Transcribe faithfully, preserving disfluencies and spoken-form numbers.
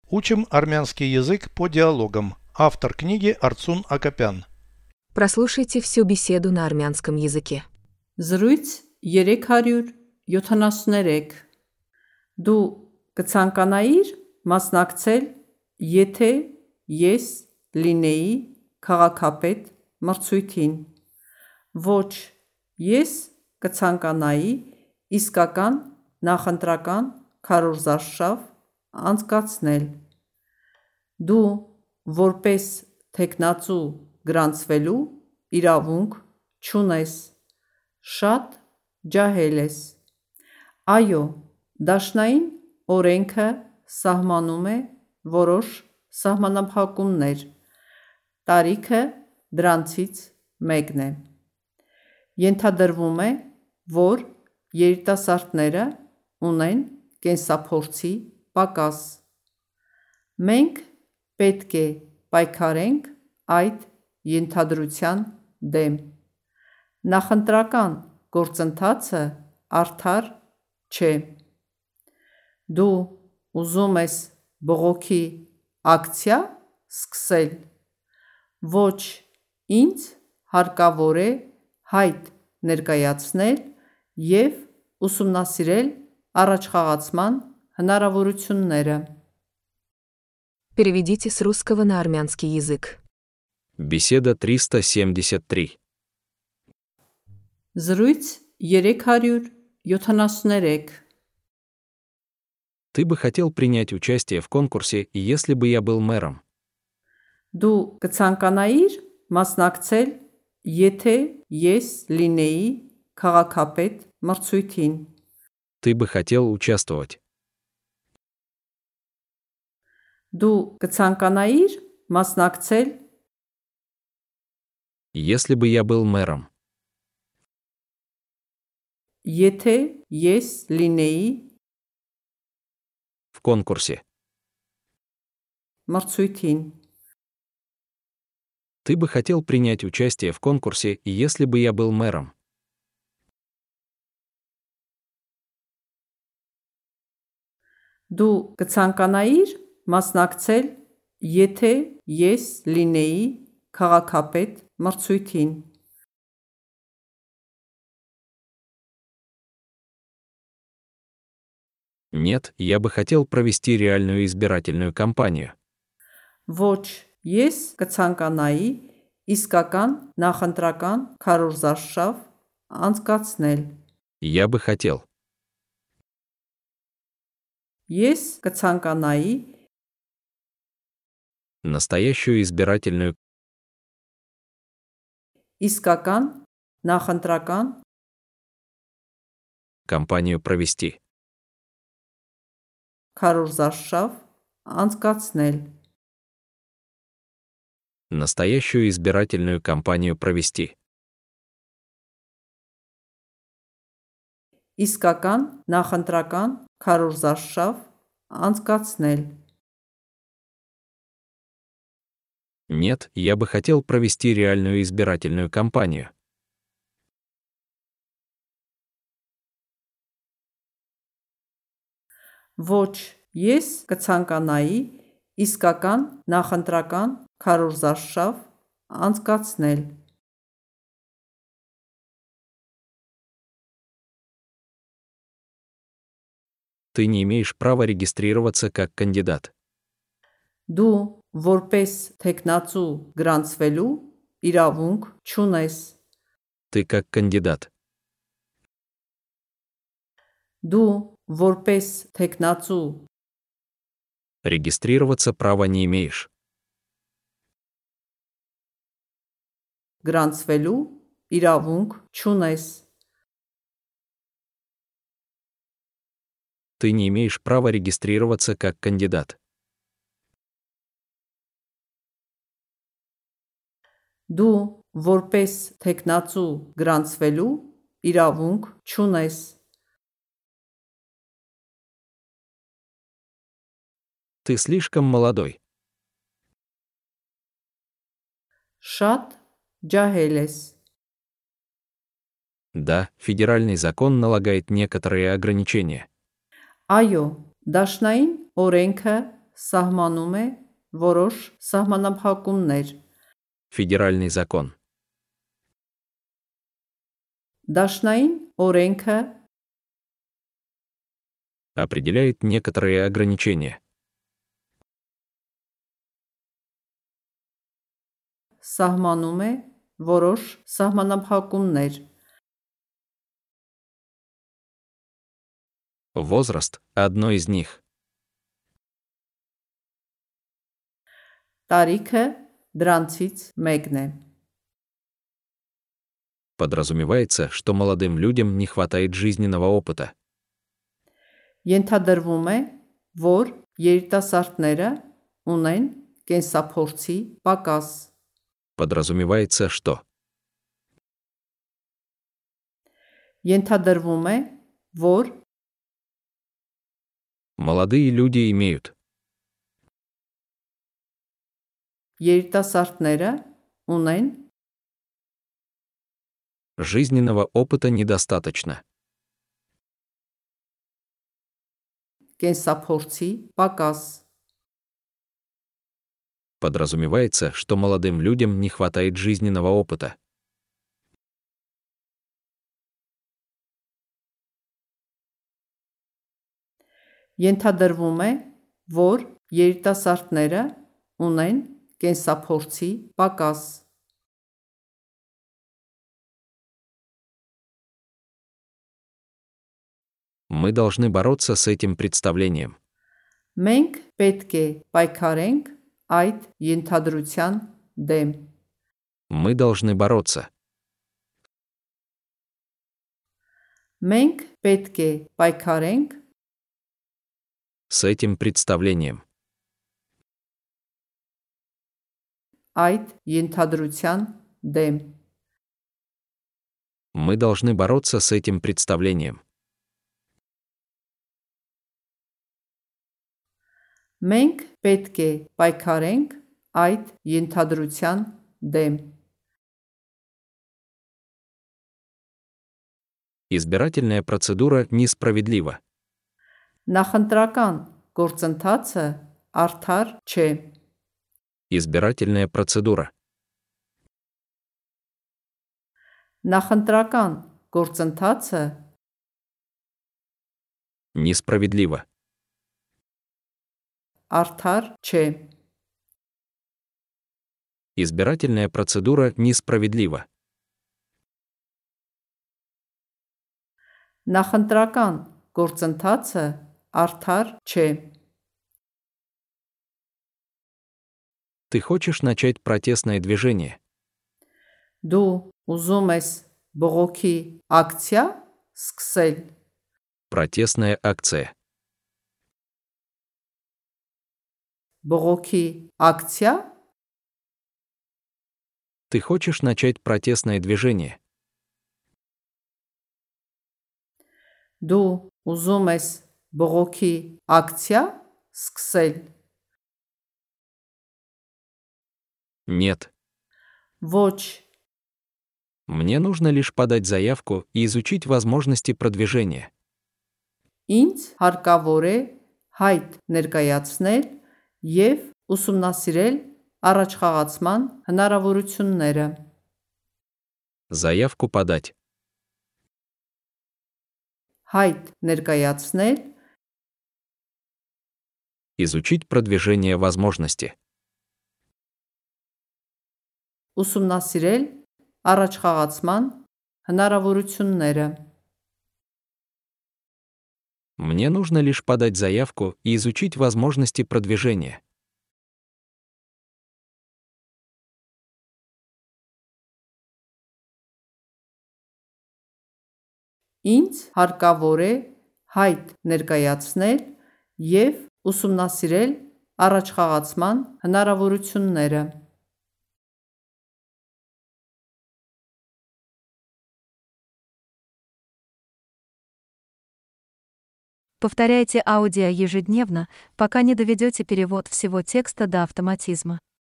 Учим армянский язык по диалогам. Автор книги Арцун Акопян. Прослушайте всю беседу на армянском языке. Զրույց երեք հարյուր յոթանասուններեք Դու կցանկանայիր մասնակցել, եթե ես լինեի քաղաքապետ մրցույթին։ Ոչ, ես կցանկանայի իսկական նախընտրական քարոզարշավ անցկացնել։ Դու որպես թեկնածու գրանցվելու իրավունք չունես։ Շատ ջահել ես։ Այո, դաշնային օրենքը սահմանում է որոշ սահմանափակումներ, տարիքը դրանցից մեկն է։ Ենթադրվում է, որ երիտասարդները ունեն կենսափորձի պակաս։ Մենք պետք է պայքարենք այդ ենթադրության դեմ։ Նախընտրական գործընթացը արդար չէ։ Դու ուզում ես բողոքի ակցիա սկսել։ Ոչ, ինձ հարկավոր է հայտ ներկայացնել և ուսումնասիրել առաջխաղացման հնարավորությունները։ Переведите с русского на армянский язык. Беседа триста семьдесят три. Զրույց երեք հարյուր յոթանասուններեք Ты бы хотел принять участие в конкурсе, если бы я был мэром. Դու կցանկանայիր մասնակցել, եթե ես լինեի քաղաքապետ մրցույթին։ Ты бы хотел участвовать. Դու կցանկանայիր մասնակցել, Если бы я был мэром. եթե ես լինեի В конкурсе. մրցույթին։ Ты бы хотел принять участие в конкурсе, если бы я был мэром. Դու կցանկանայիր մասնակցել, եթե ես լինեի քաղաքապետ մրցույթին։ Нет, я бы хотел провести реальную избирательную кампанию. Ոչ, ես կցանկանայի իսկական նախընտրական քարոզարշավ անցկացնել։ Я бы хотел. Ես կցանկանայի Настоящую избирательную իսկական նախընտրական кампанию провести. քարոզարշավ անցկացնել։ Настоящую избирательную кампанию провести. Իսկական նախընտրական քարոզարշավ անցկացնել։ Нет, я бы хотел провести реальную избирательную кампанию. Ոչ, ես կցանկանայի իսկական նախընտրական քարոզարշավ անցկացնել։ Ты не имеешь права регистрироваться как кандидат. Դու որպես թեկնածու գրանցվելու իրավունք չունես։ Ты как кандидат. Դու որպես թեկնածու Регистрироваться права не имеешь. գրանցվելու իրավունք չունես։ Ты не имеешь права регистрироваться как кандидат. Դու որպես թեկնածու գրանցվելու իրավունք չունես։ Ты слишком молодой. Շատ ջահել ես։ Да, федеральный закон налагает некоторые ограничения. Այո, դաշնային օրենքը սահմանում է որոշ սահմանափակումներ։ Федеральный закон. Դաշնային օրենքը Определяет некоторые ограничения. սահմանում է որոշ սահմանափակումներ։ Возраст – одно из них. Տարիքը դրանցից մեկն է։ Подразумевается, что молодым людям не хватает жизненного опыта. Ենթադրվում է, որ երիտասարդները ունեն կենսափորձի պակաս։ Подразумевается, что Ենթադրվում է, որ молодые люди имеют երիտասարդները ունեն жизненного опыта недостаточно. կենսափորձի պակաս։ Подразумевается, что молодым людям не хватает жизненного опыта. Ենթադրվում է, որ երիտասարդները ունեն կենսափորձի պակաս։ Мы должны бороться с этим представлением. Մենք պետք է պայքարենք այդ ենթադրության դեմ։ Мы должны бороться. Մենք պետք է պայքարենք С этим представлением. այդ ենթադրության դեմ։ Мы должны бороться с этим представлением. Մենք պետք է պայքարենք այդ ենթադրության դեմ։ Избирательная процедура несправедлива. Նախընտրական գործընթացը արդար չէ։ Избирательная процедура. Նախընտրական գործընթացը Несправедлива. արդար չէ։ Избирательная процедура несправедлива. Նախընտրական գործընթացը արդար չէ։ Ты хочешь начать протестное движение? Դու ուզում ես բողոքի ակցիա սկսել։ Протестная акция. Բողոքի ակցիա Ты хочешь начать протестное движение? Դու ուզում ես բողոքի ակցիա սկսել։ Нет. Ոչ, Мне нужно лишь подать заявку и изучить возможности продвижения. ինձ հարկավոր է հայտ ներկայացնել և ուսումնասիրել առաջխաղացման հնարավորությունները։ Заявку подать. Հայտ ներկայացնել, Изучить продвижение возможности. ուսումնասիրել առաջխաղացման հնարավորությունները։ Мне нужно лишь подать заявку и изучить возможности продвижения. Ինձ հարկավոր է հայտ ներկայացնել և ուսումնասիրել առաջխաղացման հնարավորությունները։ Повторяйте аудио ежедневно, пока не доведете перевод всего текста до автоматизма.